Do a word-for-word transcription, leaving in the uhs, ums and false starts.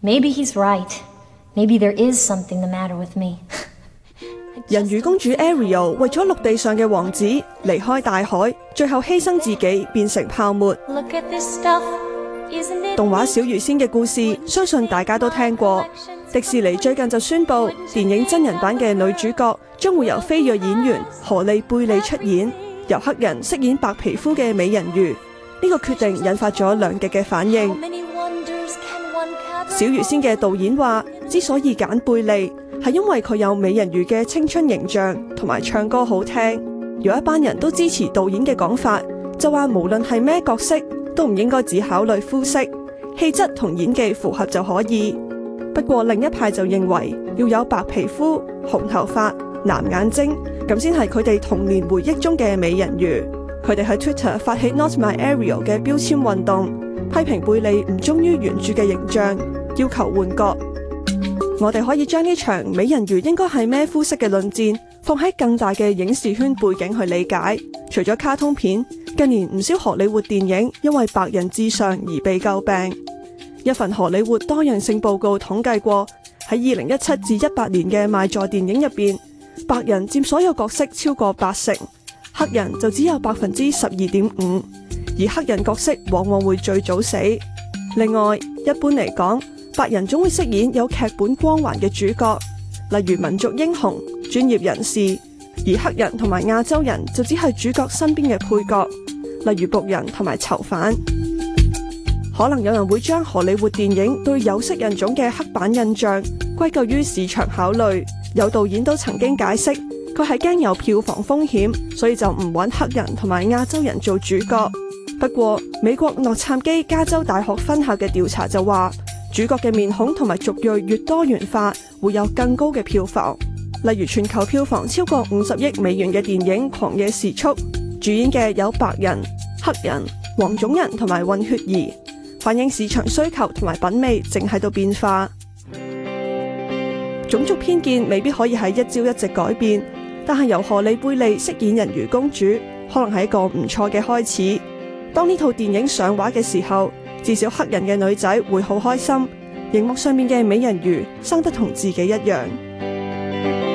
Maybe he's right. Maybe there is something the matter with me. 人魚公主 Ariel 為咗陸地上嘅王子離開大海，最後犧牲自己變成泡沫。 Look at this stuff, isn't it? 動畫小魚仙嘅故事，相信大家都聽過。迪士尼最近就宣布，電影真人版嘅女主角將會由非裔演員荷莉貝利出演，由黑人飾演白皮膚嘅美人魚。呢個決定引發咗兩極嘅反應。小魚仙嘅導演話，之所以揀貝利，係因為佢有美人魚嘅青春形象同埋唱歌好聽。有一班人都支持導演嘅講法，就話無論係咩角色都唔應該只考慮膚色，氣質同演技符合就可以。不過另一派就認為要有白皮膚、紅頭髮、藍眼睛，咁先係佢哋童年回憶中嘅美人魚。佢哋喺 Twitter 發起 Not My Ariel 嘅標籤運動，批評貝利唔忠於原著嘅形象，要求換角。我哋可以將呢場美人魚應該係咩膚色嘅論戰放喺更大嘅影視圈背景去理解。除咗卡通片，近年唔少荷里活電影因為白人至上而被詬病。一份荷里活多樣性報告統計過，喺二零一七至一八年嘅賣座電影入邊，白人佔所有角色超過八成，黑人就只有百分之十二點五，而黑人角色往往會最早死。另外，一般嚟講，白人總會飾演有劇本光環嘅主角，例如民族英雄、專業人士，而黑人同埋亞洲人就只係主角身邊嘅配角，例如僕人同埋囚犯。可能有人會將荷里活電影對有色人種嘅刻板印象歸咎於市場考慮，有導演都曾經解釋，佢係驚有票房風險，所以就唔揾黑人同埋亞洲人做主角。不過，美國洛杉磯加州大學分校嘅調查就話，主角嘅面孔同埋族裔越多元化，會有更高嘅票房。例如全球票房超過五十億美元嘅電影《狂野時速》，主演嘅有白人、黑人、黃種人同埋混血兒，反映市場需求同埋品味正喺度變化。種族偏見未必可以喺一朝一夕改變，但係由荷莉貝利飾演人魚公主，可能係一個唔錯嘅開始。當呢套電影上畫嘅時候，至少黑人嘅女仔會好開心，熒幕上面嘅美人魚生得同自己一樣。